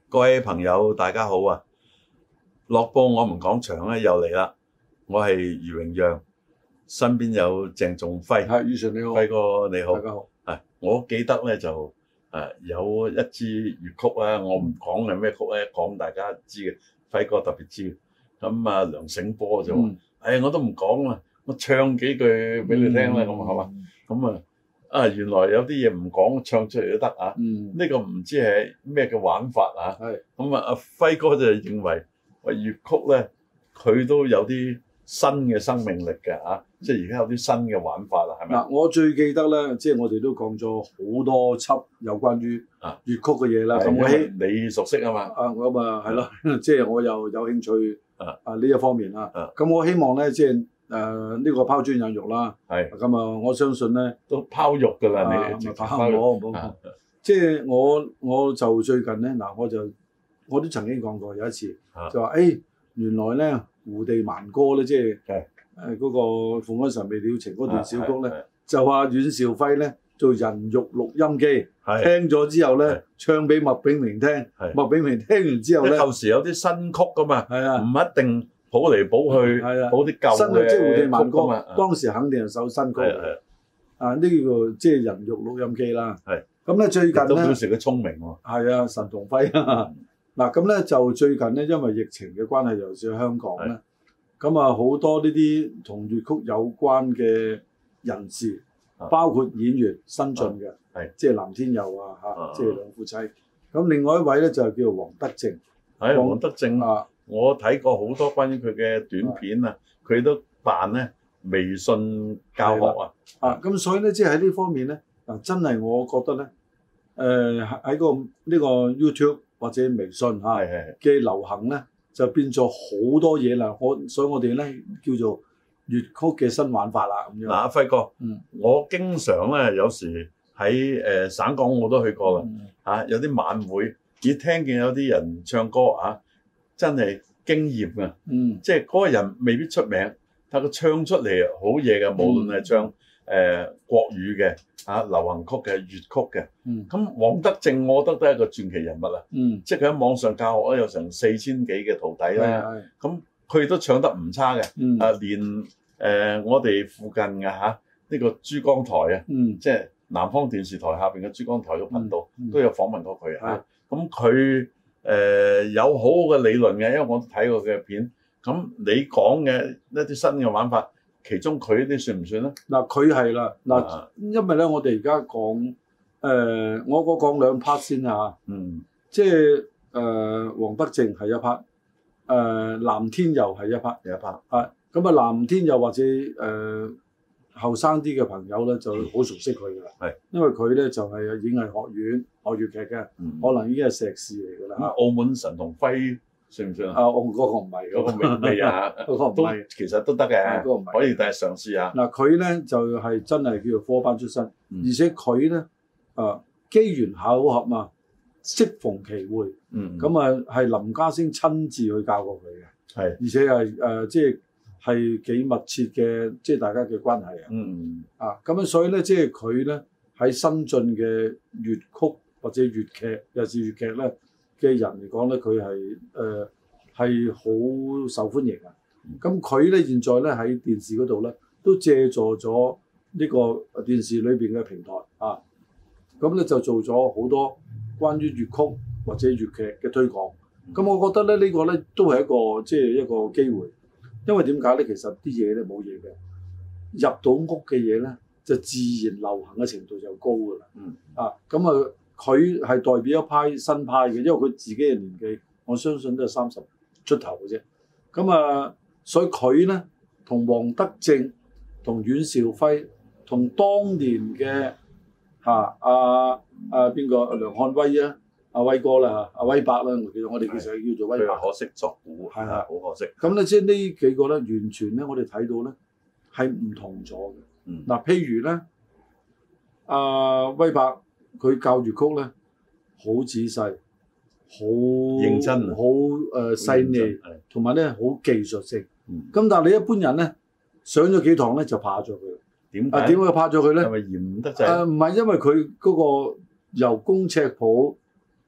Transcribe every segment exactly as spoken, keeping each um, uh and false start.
各位朋友，大家好啊！樂報我們講場咧又嚟啦，我係余榮讓，身邊有鄭仲輝。 係，余 Sir 你好， 輝哥你好， 大家好。 係，我記得咧就誒有一支粵曲啦，我唔講係咩曲咧，講大家知嘅，輝哥特別知。咁啊，梁醒波就話：誒、嗯哎，我都唔講啦，我唱幾句俾你聽啦，咁係嘛？咁啊。啊，原來有啲嘢唔講唱出嚟都得啊！呢、嗯呢個唔知係咩嘅玩法啊！咁啊，阿輝哥就認為話粵曲咧，佢都有啲新嘅生命力嘅啊！即係而家有啲新嘅玩法啦，係咪？嗱， 我最記得咧，即係我哋都講咗好多輯有關於粵曲嘅嘢啦。咁、啊、我希你熟悉啊嘛？ 啊，我啊係咯，即係我又有興趣啊啊呢一方面啦。咁、啊、我希望咧，即係。誒、呃、呢、這個拋磚引玉啦，係咁啊！我相信咧都拋玉㗎啦，你唔係拋我唔好，即係我我就最近咧嗱，我就我都曾經講過有一次，啊、就話誒、欸、原來咧胡地蠻歌咧，即係誒嗰個《鳳安神未了情》嗰段小曲咧，就話阮兆輝咧做人肉錄音機，聽咗之後咧唱俾麥炳明聽，麥炳明聽完之後咧， 舊時有啲新曲㗎嘛，係啊，唔一定。補嚟補去，補啲舊嘅新嘅即係胡地蠻歌嘛。當時肯定係首新歌嚟。啊，呢、這個即係人肉錄音機啦。係。咁咧最近咧都表示佢聰明喎。 係啊，神同輝。嗱咁咧就最近咧，因為疫情嘅關係，尤其是香港咧，咁啊好多呢啲同粵曲有關嘅人士，包括演員新進嘅，係即係藍天佑啊嚇，即係兩夫妻。咁另外一位咧就係叫做黃德正。 係黃德正啊。我睇過好多關於佢嘅短片啊，佢都辦咧微信教學啊， 啊咁所以咧，即係喺呢方面咧，嗱真係我覺得咧，誒、呃、喺個呢個 YouTube 或者微信嚇嘅流行咧，就變咗好多嘢啦。我所以我哋咧叫做粵曲嘅新玩法啦咁樣。嗱、 啊，阿輝哥，嗯，我經常咧有時喺誒、呃、省港我都去過啦，嚇、嗯啊、有啲晚會，只聽見有啲人唱歌啊。真係驚豔啊！嗯，即係嗰個人未必出名，但佢唱出嚟好嘢嘅，無論係唱誒、呃、國語嘅、啊流行曲嘅、粵曲嘅。嗯，咁黃德正，我覺得都係一個傳奇人物啊！嗯，即係佢喺網上教學咧，有成四千幾嘅徒弟啦。咁佢都唱得唔差嘅。嗯，啊連誒、呃、我哋附近嘅嚇，呢、啊這個珠江台啊，嗯，即係南方電視台下邊嘅珠江台嘅頻道、嗯嗯、都有訪問過佢啊。咁佢誒、呃、有好好嘅理論嘅，因為我都睇過佢嘅片。咁你講嘅一啲新嘅玩法，其中佢啲算唔算咧？ 嗱，佢係啦，嗱，因為咧，我哋而家講誒，我我講兩 part 先嚇。嗯，即係誒黃德正係一 part，誒、呃、藍天佑係一 part， 有一 part。 啊，咁啊藍天佑或者誒後生啲嘅朋友咧，就好熟悉佢㗎啦。係、嗯，因為佢咧就係、是、演藝學院學粵劇嘅、嗯，可能已經係碩士嚟㗎啦。 澳門神同輝算唔算啊？ 啊，我嗰個唔係， 嗰、那個未未啊，嗰個唔係，其實都得嘅，嗰、那個唔係，可以第日嘗試下。嗱， 佢咧就係、是、真係叫做科班出身，嗯、而且佢咧啊機緣巧合嘛，適逢其會，咁、嗯、啊係林家聲親自去教過佢嘅，係，而且係誒、呃、即係。係幾密切嘅，即係大家嘅關係啊！嗯啊，咁樣所以咧，即係佢咧喺新進嘅粵曲或者粵劇，尤其是粵劇咧嘅人嚟講咧，佢係誒係好受歡迎啊！咁佢咧現在咧喺電視嗰度咧都借助咗呢個電視裏邊嘅平台啊，咁咧就做咗好多關於粵曲或者粵劇嘅推廣。咁我覺得咧呢個咧都係一個即係一個機會。因為點解咧？其實啲嘢咧冇嘢嘅，入到屋嘅嘢咧就自然流行嘅程度就高㗎啦。嗯啊，咁啊，佢係代表一派新派嘅，因為佢自己嘅年紀，我相信都係三十出頭嘅啫。咁啊，所以佢咧同黃德正、同阮兆輝、同當年嘅嚇阿阿邊個梁漢威啊。阿威哥啦嚇，阿威伯啦，其實我哋其實叫做威伯。 可惜作古，係啊，好可惜。 咁咧，即係呢幾個咧，完全咧，我哋睇到咧係唔同咗嘅。嗯。嗱，譬如咧，阿威伯佢教粵曲咧，好仔細，好認真， 好誒細膩，同埋咧好技術性。嗯。咁但係你一般人咧上咗幾堂咧就怕咗佢。點解？啊，點解怕咗佢咧？ 係咪嫌得滯？ 誒唔係因為佢嗰個由工尺譜。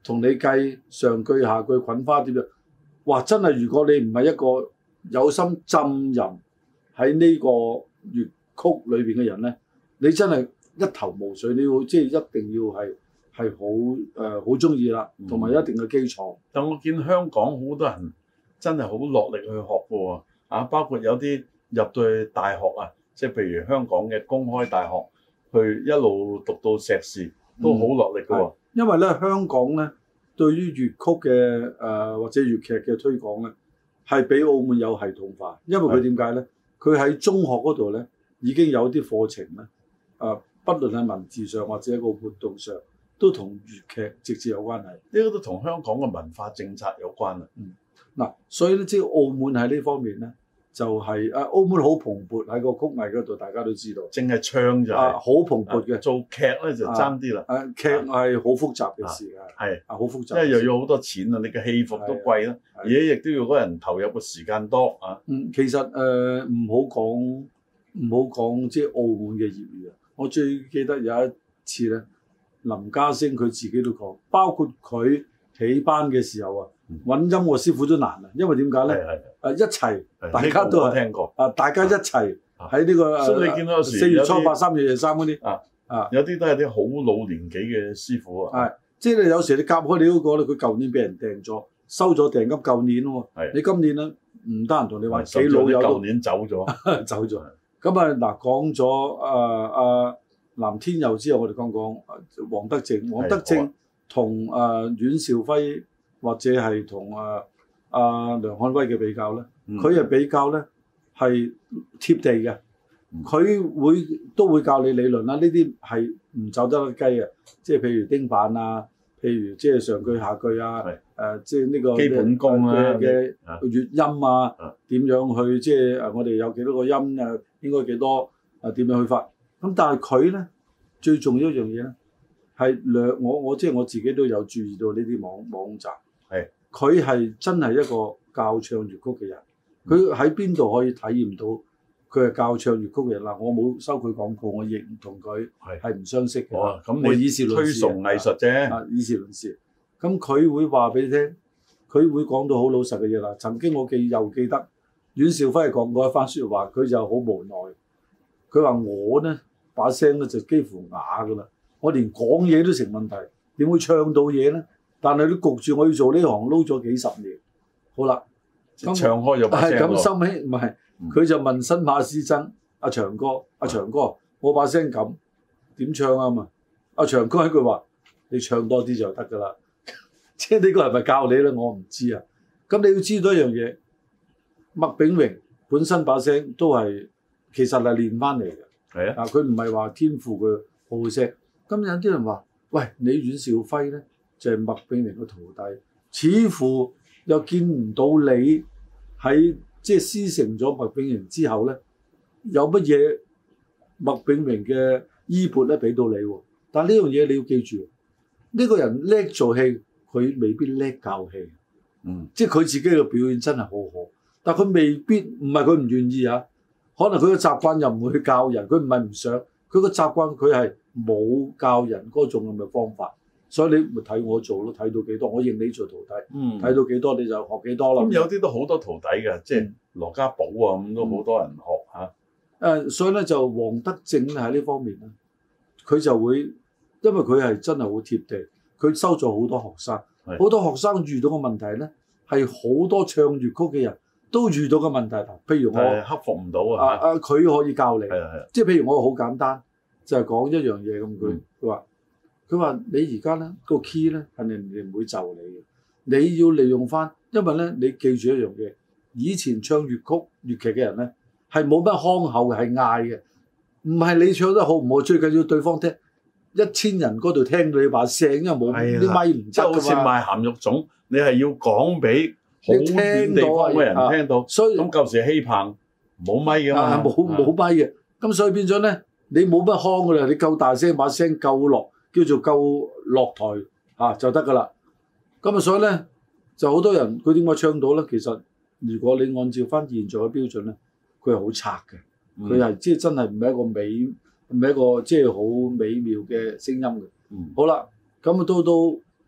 同你計上句下句滾花點樣，哇！真係如果你唔係一個有心浸淫喺呢個粵曲裏邊嘅人咧，你真係一頭霧水。你要即係一定要係係好誒好中意啦，同埋、呃、一定嘅基礎、嗯。但我見香港好多人真係好落力去學嘅喎，啊，包括有啲入到去大學啊，即係譬如香港嘅公開大學，去一路讀到碩士，都好落力嘅喎、嗯。因為咧，香港咧對於粵曲嘅誒、呃、或者粵劇嘅推廣咧，係比澳門有系統化。因為佢點解咧？佢喺中學嗰度咧已經有啲課程咧，誒、呃，不論係文字上或者一個活動上，都同粵劇直接有關係。呢個都同香港嘅文化政策有關啊。嗯，嗱，所以咧，即係澳門喺呢方面咧。就係、是、啊，澳門好蓬勃喺個曲藝嗰度，大家都知道。淨係唱就係、是、好、啊、蓬勃嘅、啊，做劇咧就爭啲啦。誒劇係好複雜嘅事啊，係啊，好複雜。因為又要好多錢啊，你嘅戲服都貴啦，而且亦都要嗰人投入嘅時間多啊。嗯，其實誒唔好講唔好講即係澳門嘅業餘啊。我最記得有一次咧，林家聲佢自己都講，包括佢起班嘅時候啊。揾音樂師傅都難啊，因為點解咧？誒一齊，大家都係聽過啊！大家一齊喺呢個，所以你見到有時四月初八、三月廿三嗰啲啊啊，有啲都係啲好老年紀嘅師傅啊。係，即係你有時你夾開你嗰個咧，佢舊年俾人訂咗，收咗訂金，舊年喎。係，你今年咧唔得閒同你話幾老友都舊年走咗，走咗。咁啊嗱，講咗誒誒藍天佑之後，我哋講講黃德正，黃德正同誒阮兆輝。或者係同啊啊梁漢威嘅比較咧，佢係、嗯、比較咧係貼地嘅，佢、嗯、會都會教你理論啦。呢啲係唔走得甩雞嘅，即係譬如丁板啊，譬如即係上句下句啊，誒、呃、即係呢個基本功啊嘅粵音啊，點、啊、樣去即係誒我哋有幾多個音啊，應該幾多啊點樣去發？咁但係佢咧最重要一樣嘢咧係兩我我即係我自己都有注意到呢啲網網站。係，佢係真係一個教唱粵曲嘅人，佢喺邊度可以體驗到佢係教唱粵曲嘅人嗱？我冇收佢廣告，我亦唔同佢係唔相識嘅。哦，咁你以事論事推崇藝術啫。啊，以事論事。咁佢會話俾你聽，佢會講到好老實嘅嘢啦。曾經我記又記得阮兆輝係講過一番説話，佢就好無奈。佢話我呢把聲咧就幾乎啞㗎啦，我連講嘢都成問題，點會唱到嘢咧？但係你焗住我要做呢行，撈咗幾十年，好啦，咁唱開咗把聲喎。咁收尾唔係，佢就問新馬師曾阿長哥，阿、啊、長哥，我把聲咁點唱啊嘛？阿長哥一句話，你唱多啲就得㗎啦。即係呢個係咪教你咧？我唔知啊。咁你要知道一樣嘢，麥炳榮本身把聲都係其實係練翻嚟嘅。係啊，佢唔係話天賦佢好聲。咁有啲人話，喂，你阮兆輝咧？就係麥炳榮嘅徒弟，似乎又見唔到你喺即係師承咗麥炳榮之後咧，有乜嘢麥炳榮嘅衣缽咧俾到你喎？但係呢樣嘢你要記住，呢、呢個人叻做戲，佢未必叻教戲。嗯，即係佢自己嘅表演真係好好，但係佢未必唔係佢唔願意啊。可能佢嘅習慣又唔會去教人，佢唔係唔想，佢個習慣佢係冇教人嗰種咁嘅方法。所以你咪睇我做咯，睇到幾多我認你做徒弟，睇、嗯、到幾多你就學幾多啦。咁、嗯、有啲都好多徒弟嘅，即係羅家寶啊咁都好多人學嚇。誒、嗯啊，所以咧就黃德正咧喺呢方面咧，佢就會因為佢係真係好貼地，佢收咗好多學生，好多學生遇到嘅問題咧係好多唱粵曲嘅人都遇到嘅問題。譬如我克服唔到啊，啊啊佢可以教你，即係譬如我好簡單就係、是、講一樣嘢咁，佢佢話。佢話：你而家咧個 key 咧係人哋唔會就你嘅，你要利用翻，因為咧你記住一樣嘢，以前唱粵曲粵劇嘅人咧係冇乜腔口嘅，係嗌嘅，唔係你唱得好唔好，最緊要對方聽，一千人嗰度聽到你把聲，因為冇啲咪唔得㗎嘛。就好似賣鹹肉粽，你係要講俾好遠地方嘅人聽到，所以咁舊時戲棚冇咪㗎嘛，冇冇咪嘅，咁所以變咗咧你冇乜腔㗎啦，你夠大聲把聲夠落。叫做夠落台嚇、啊、就得㗎啦，咁啊所以咧就好多人佢點解唱到咧？其實如果你按照翻現在嘅標準咧，佢係好差嘅，佢係即係真係唔係一個美唔係一個即係好美妙嘅聲音嘅。嗯、好啦，咁啊到到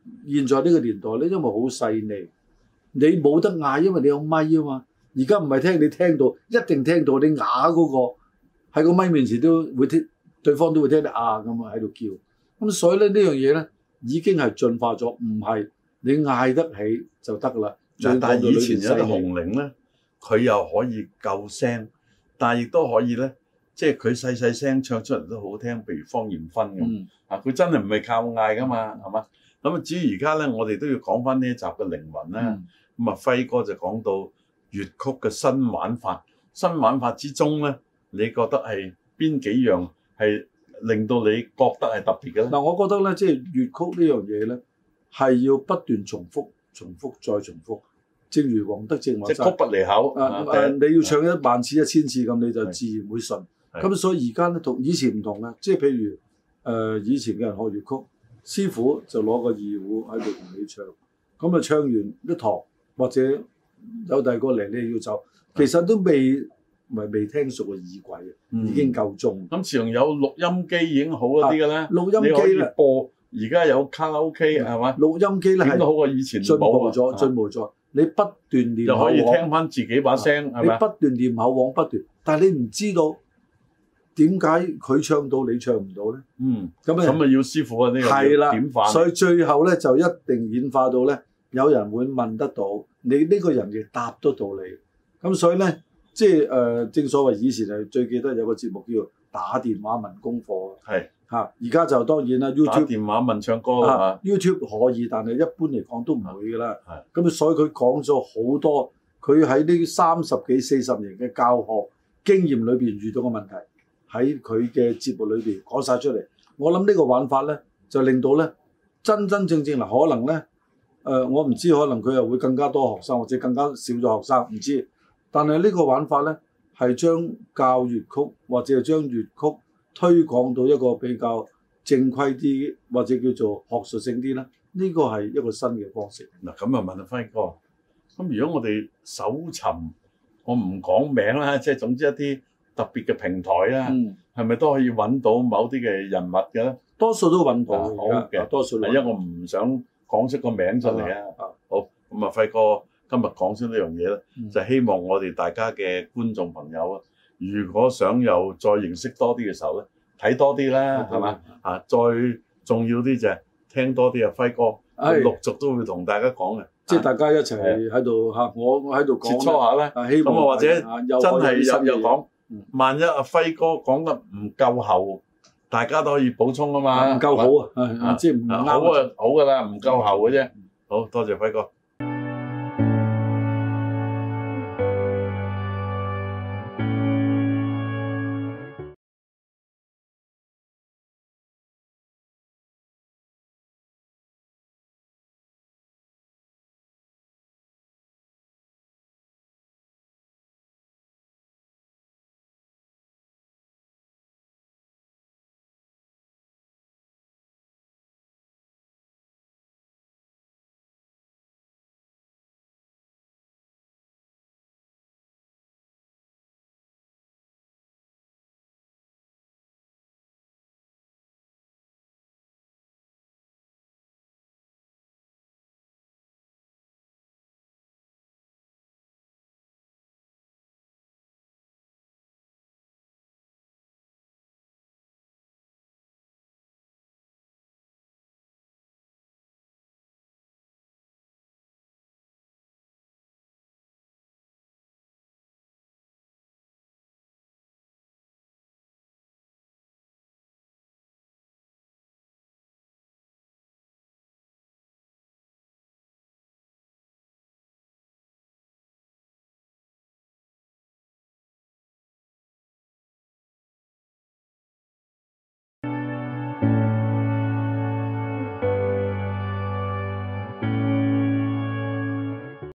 現在呢個年代咧，因為好細膩，你冇得嗌，因為你有咪啊嘛。而家唔係聽你聽到，一定聽到你啞嗰個喺個咪面前都會聽，對方都會聽你啊咁啊喺度叫。咁所以咧呢樣嘢咧已經係進化咗，唔係你嗌得起就得啦。 但係以前有啲紅伶咧，佢又可以夠聲，但係亦都可以咧，即係佢細細聲唱出嚟都好聽。譬如芳艷芬咁、嗯、啊，佢真係唔係靠嗌噶嘛，係嘛？咁啊，至於而家咧，我哋都要講翻呢一集嘅靈魂啦。咁、嗯、啊，輝哥就講到粵曲嘅新玩法，新玩法之中咧，你覺得係邊幾樣係令到你覺得係特別嘅咧？嗱， 我覺得咧，即係粵曲呢樣嘢咧，係要不斷重複、重複再重複。正如黃德正話齋， 即係曲不離口。 啊啊啊、你要唱一萬次、一千次咁，你就自然會順。咁所以而家咧同以前唔同嘅，即係譬如誒、呃、以前嘅人學粵曲，師傅就攞個二胡喺度同你唱，咁啊唱完一堂或者有第二個嚟，你要走，其實都未唔係未聽熟嘅耳鬼嘅、嗯，已經夠鐘。 咁自從有錄音機已經好一啲嘅咧， 錄音機咧播，而家有卡拉 OK 係嘛？ 錄音機咧係都好過以前進步咗，進步咗。你不斷練口簧， 就可以聽翻自己把聲係咪？ 你不斷練口簧，不斷，但係你唔知道點解佢唱到你唱唔到咧？ 嗯，咁啊，咁啊要師傅啊呢、呢個係啦， 點化？ 所以最後咧就一定演化到咧，有人會問得到你呢個人亦答得到你。咁所以咧，即係誒、呃，正所謂以前係最記得有個節目叫打電話問功課。係。嚇！而家就當然啦 ，YouTube 打電話問唱歌啊 ，YouTube 可以，但係一般嚟講都唔會㗎啦。係。咁所以佢講咗好多，佢喺呢三十幾四十年嘅教學經驗裏邊遇到嘅問題，喺佢嘅節目裏邊講晒出嚟。我諗呢個玩法咧，就令到咧真真正正嗱，可能咧誒、呃，我唔知，可能佢又會更加多學生，或者更加少咗學生，唔知。但係呢個玩法咧，係將教粵曲或者係將粵曲推廣到一個比較正規啲，或者叫做學術性啲啦。呢個係一個新嘅方式。 嗱，咁啊問阿輝哥，咁如果我哋搜尋，我唔講名啦，即係總之一啲特別嘅平台啦，係、嗯、咪都可以揾到某啲嘅人物嘅咧？ 多數都揾到。 好嘅， 多數。 因為我唔想講出個名出嚟啊。好，咁啊輝哥今日講出呢樣嘢咧，就希望我哋大家嘅觀眾朋友啊。如果想又再認識多啲嘅時候咧，睇多啲啦，係嘛？啊，再重要啲就係聽多啲啊，輝哥陸續都會同大家講嘅， 即係大家一齊喺度嚇，我我喺度講， 切磋下咧。咁啊，或者真係又又講，萬一阿輝哥講得唔夠厚，大家都可以補充啊嘛。 唔夠好啊，即係唔啱。 好啊，好㗎啦，唔夠厚嘅啫。好多謝輝哥。